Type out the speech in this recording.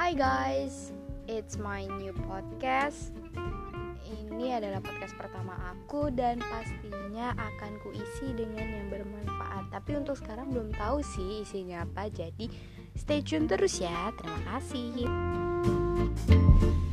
Hi guys, it's my new podcast. Ini adalah podcast pertama aku dan pastinya akan kuisi dengan yang bermanfaat. Tapi untuk sekarang belum tahu sih isinya apa, jadi stay tune terus ya. Terima kasih.